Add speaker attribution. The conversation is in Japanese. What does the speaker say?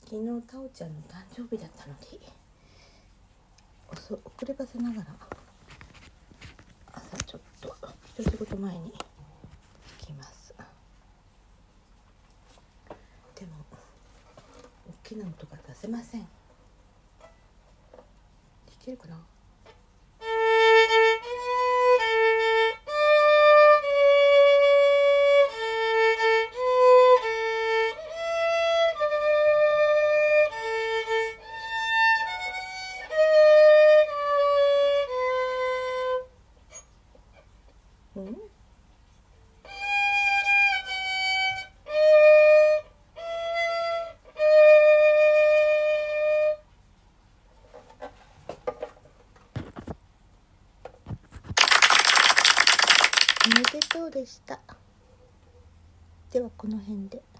Speaker 1: 昨日タオちゃんの誕生日だったので遅ればせながら朝ちょっと一仕事前に行きます。でも大きな音が出せません。できるかな。おめでとうでした。ではこの辺で。